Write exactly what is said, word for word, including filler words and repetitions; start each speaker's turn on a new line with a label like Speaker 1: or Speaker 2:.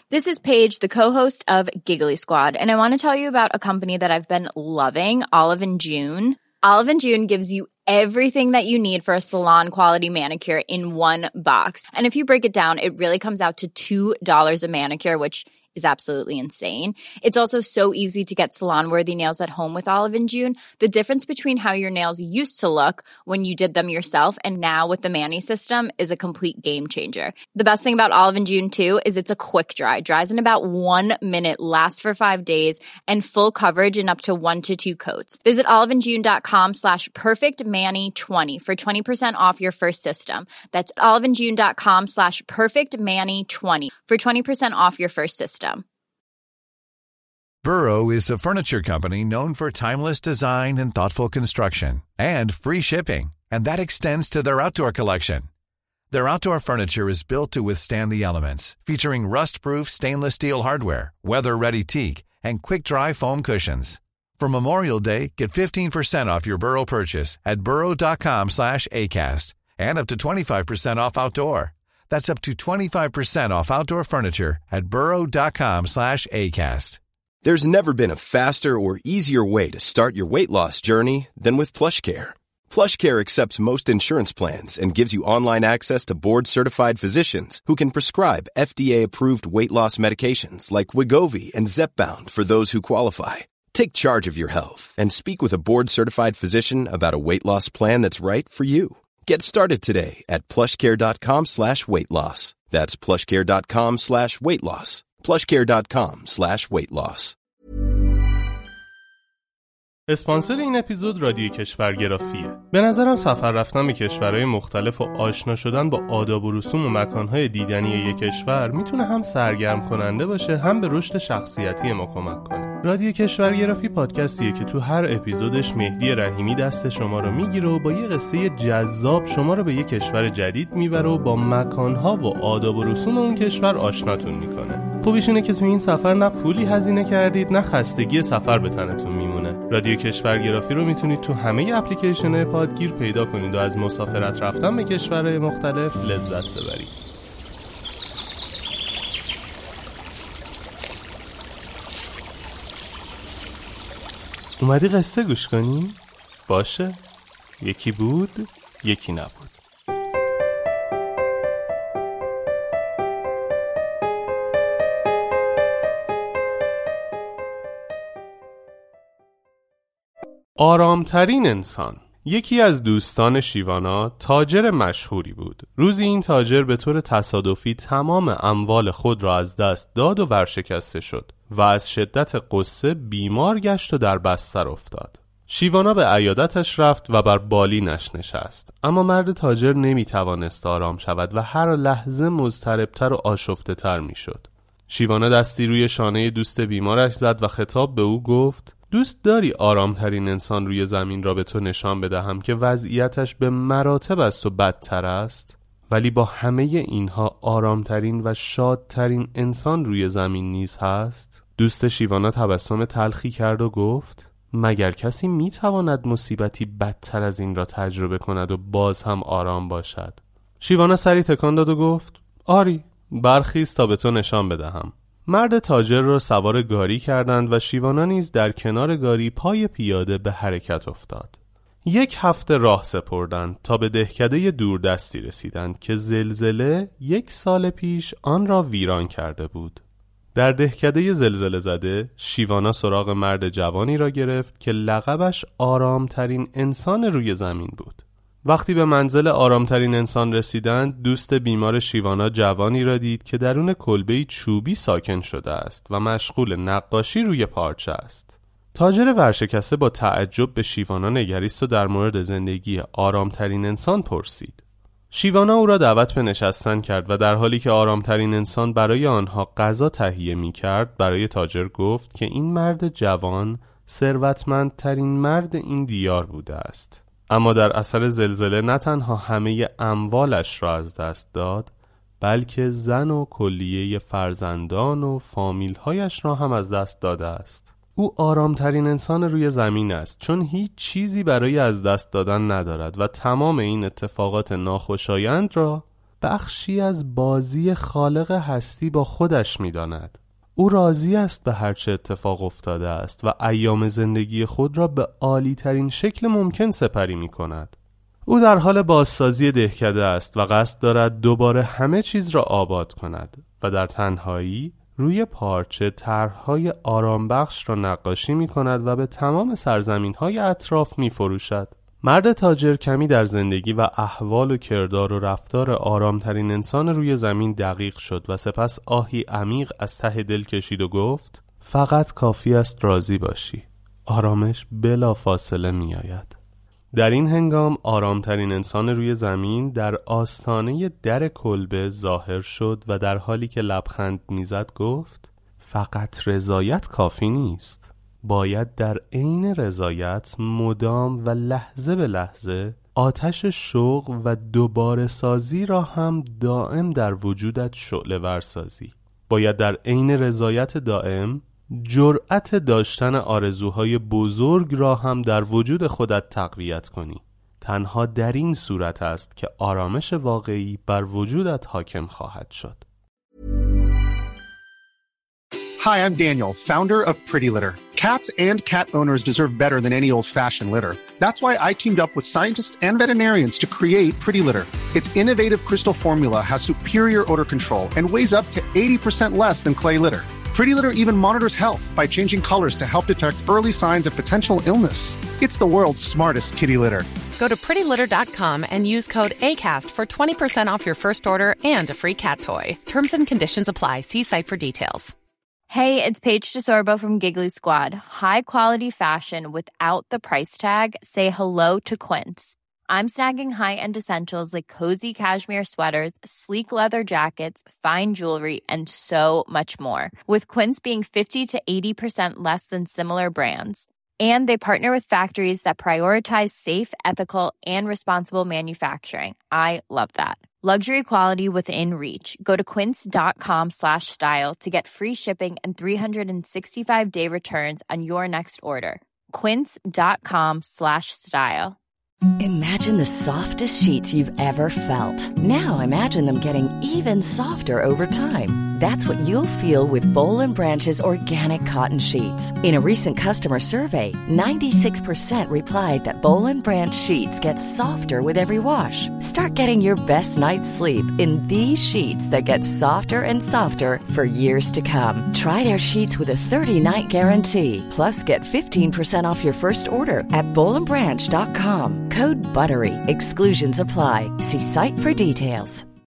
Speaker 1: This is Paige, the co-host of Giggly Squad, and I want to tell you about a company that I've been loving, Olive and June. Olive and June gives you everything that you need for a salon-quality manicure in one box. And if you break it down, it really comes out to two dollars a manicure, which is absolutely insane. It's also so easy to get salon-worthy nails at home with Olive and June. The difference between how your nails used to look when you did them yourself and now with the Mani system is a complete game changer. The best thing about Olive and June, too, is it's a quick dry. Dries in about one minute, lasts for five days, and full coverage in up to one to two coats. Visit oliveandjune.com slash perfectmani20 for twenty percent off your first system. That's oliveandjune.com slash perfectmani20 for twenty percent off your first system.
Speaker 2: Burrow is a furniture company known for timeless design and thoughtful construction and free shipping, and that extends to their outdoor collection. Their outdoor furniture is built to withstand the elements, featuring rust-proof stainless steel hardware, weather-ready teak, and quick-dry foam cushions. For Memorial Day, get fifteen percent off your Burrow purchase at burrow.com slash ACAST and up to twenty-five percent off outdoor. That's up to twenty-five percent off outdoor furniture at burrow.com slash ACAST.
Speaker 3: There's never been a faster or easier way to start your weight loss journey than with PlushCare. PlushCare accepts most insurance plans and gives you online access to board-certified physicians who can prescribe F D A-approved weight loss medications like Wegovy and Zepbound for those who qualify. Take charge of your health and speak with a board-certified physician about a weight loss plan that's right for you. Get started today at plushcare.com slash weight loss. That's plushcare.com slash weight loss. plushcare.com slash weight loss.
Speaker 4: اسپانسر این اپیزود رادیو کشورگرافیه. به نظرم سفر رفتن به کشورهای مختلف و آشنا شدن با آداب و رسوم و مکانهای دیدنی یک کشور میتونه هم سرگرم کننده باشه، هم به رشد شخصیتی ما کمک کنه. رادیو کشورگرافی پادکستیه که تو هر اپیزودش مهدی رحیمی دست شما رو میگیره و با یه قصه جذاب شما رو به یک کشور جدید میبره و با مکانها و آداب و رسوم اون کشور آشناتون میکنه. خوبیش اینه که تو این سفر نه پولی هزینه کردید نه خستگی سفر به تنتون میمونه. رادیو کشورگرافی رو میتونید تو همه اپلیکیشن‌های پادگیر پیدا کنید و از مسافرت رفتن به کشورهای مختلف لذت ببرید. اومدی قصه گوش کنی؟ باشه. یکی بود، یکی نبود. آرامترین انسان. یکی از دوستان شیوانا تاجر مشهوری بود. روزی این تاجر به طور تصادفی تمام اموال خود را از دست داد و ورشکسته شد و از شدت غصه بیمار گشت و در بستر افتاد. شیوانا به عیادتش رفت و بر بالینش نشست، اما مرد تاجر نمی توانست آرام شود و هر لحظه مضطربتر و آشفته تر می شد. شیوانا دستی روی شانه دوست بیمارش زد و خطاب به او گفت: دوست داری آرامترین انسان روی زمین را به تو نشان بدهم که وضعیتش به مراتب از تو بدتر است؟ ولی با همه اینها آرامترین و شادترین انسان روی زمین نیز هست؟ دوست شیوانا تبسم تلخی کرد و گفت: مگر کسی میتواند مصیبتی بدتر از این را تجربه کند و باز هم آرام باشد؟ شیوانا سری تکان داد و گفت: آری، برخیز تا به تو نشان بدهم. مرد تاجر را سوار گاری کردند و شیوانا نیز در کنار گاری پای پیاده به حرکت افتاد. یک هفته راه سپردند تا به دهکده دوردستی رسیدند که زلزله یک سال پیش آن را ویران کرده بود. در دهکده زلزله زده، شیوانا سراغ مرد جوانی را گرفت که لقبش آرامترین انسان روی زمین بود. وقتی به منزل آرامترین انسان رسیدند، دوست بیمار شیوانا جوانی را دید که درون کلبه‌ای چوبی ساکن شده است و مشغول نقاشی روی پارچه است. تاجر ورشکسته با تعجب به شیوانا نگریست و در مورد زندگی آرامترین انسان پرسید. شیوانا او را دعوت به نشستن کرد و در حالی که آرامترین انسان برای آنها غذا تهیه می کرد برای تاجر گفت که این مرد جوان ثروتمندترین مرد این دیار بوده است. اما در اثر زلزله نه تنها همه اموالش را از دست داد، بلکه زن و کلیه فرزندان و فامیل‌هایش را هم از دست داده است. او آرامترین انسان روی زمین است، چون هیچ چیزی برای از دست دادن ندارد و تمام این اتفاقات ناخوشایند را بخشی از بازی خالق هستی با خودش می‌داند. او راضی است به هر چه اتفاق افتاده است و ایام زندگی خود را به عالی ترین شکل ممکن سپری می‌کند. او در حال بازسازی دهکده است و قصد دارد دوباره همه چیز را آباد کند و در تنهایی روی پارچه طرح‌های آرامبخش را نقاشی می‌کند و به تمام سرزمین‌های اطراف می‌فروشد. مرد تاجر کمی در زندگی و احوال و کردار و رفتار آرامترین انسان روی زمین دقیق شد و سپس آهی عمیق از ته دل کشید و گفت: فقط کافی است راضی باشی. آرامش بلا فاصله می آید. در این هنگام آرامترین انسان روی زمین در آستانه در کلبه ظاهر شد و در حالی که لبخند میزد گفت: فقط رضایت کافی نیست. باید در عین رضایت مدام و لحظه به لحظه آتش شوق و دوباره سازی را هم دائم در وجودت شعله ور سازی. باید در عین رضایت دائم جرأت داشتن آرزوهای بزرگ را هم در وجود خودت تقویت کنی. تنها در این صورت است که آرامش واقعی بر وجودت حاکم خواهد شد.
Speaker 5: Hi, I'm Daniel, founder of Pretty Litter. Cats and cat owners deserve better than any old-fashioned litter. That's why I teamed up with scientists and veterinarians to create Pretty Litter. Its innovative crystal formula has superior odor control and weighs up to eighty percent less than clay litter. Pretty Litter even monitors health by changing colors to help detect early signs of potential illness. It's the world's smartest kitty litter.
Speaker 6: Go to pretty litter dot com and use code ACAST for twenty percent off your first order and a free cat toy. Terms and conditions apply. See site for details.
Speaker 1: Hey, it's Paige DeSorbo from Giggly Squad. High quality fashion without the price tag. Say hello to Quince. I'm snagging high-end essentials like cozy cashmere sweaters, sleek leather jackets, fine jewelry, and so much more. With Quince being fifty to eighty percent less than similar brands. And they partner with factories that prioritize safe, ethical, and responsible manufacturing. I love that. Luxury quality within reach. Go to quince.com slash style to get free shipping and three sixty-five day returns on your next order. Quince.com slash style.
Speaker 7: Imagine the softest sheets you've ever felt. Now imagine them getting even softer over time. That's what you'll feel with Boll and Branch's organic cotton sheets. In a recent customer survey, ninety-six percent replied that Boll and Branch sheets get softer with every wash. Start getting your best night's sleep in these sheets that get softer and softer for years to come. Try their sheets with a thirty-night guarantee. Plus, get fifteen percent off your first order at boll and branch dot com. Code BUTTERY. Exclusions apply. See site for details.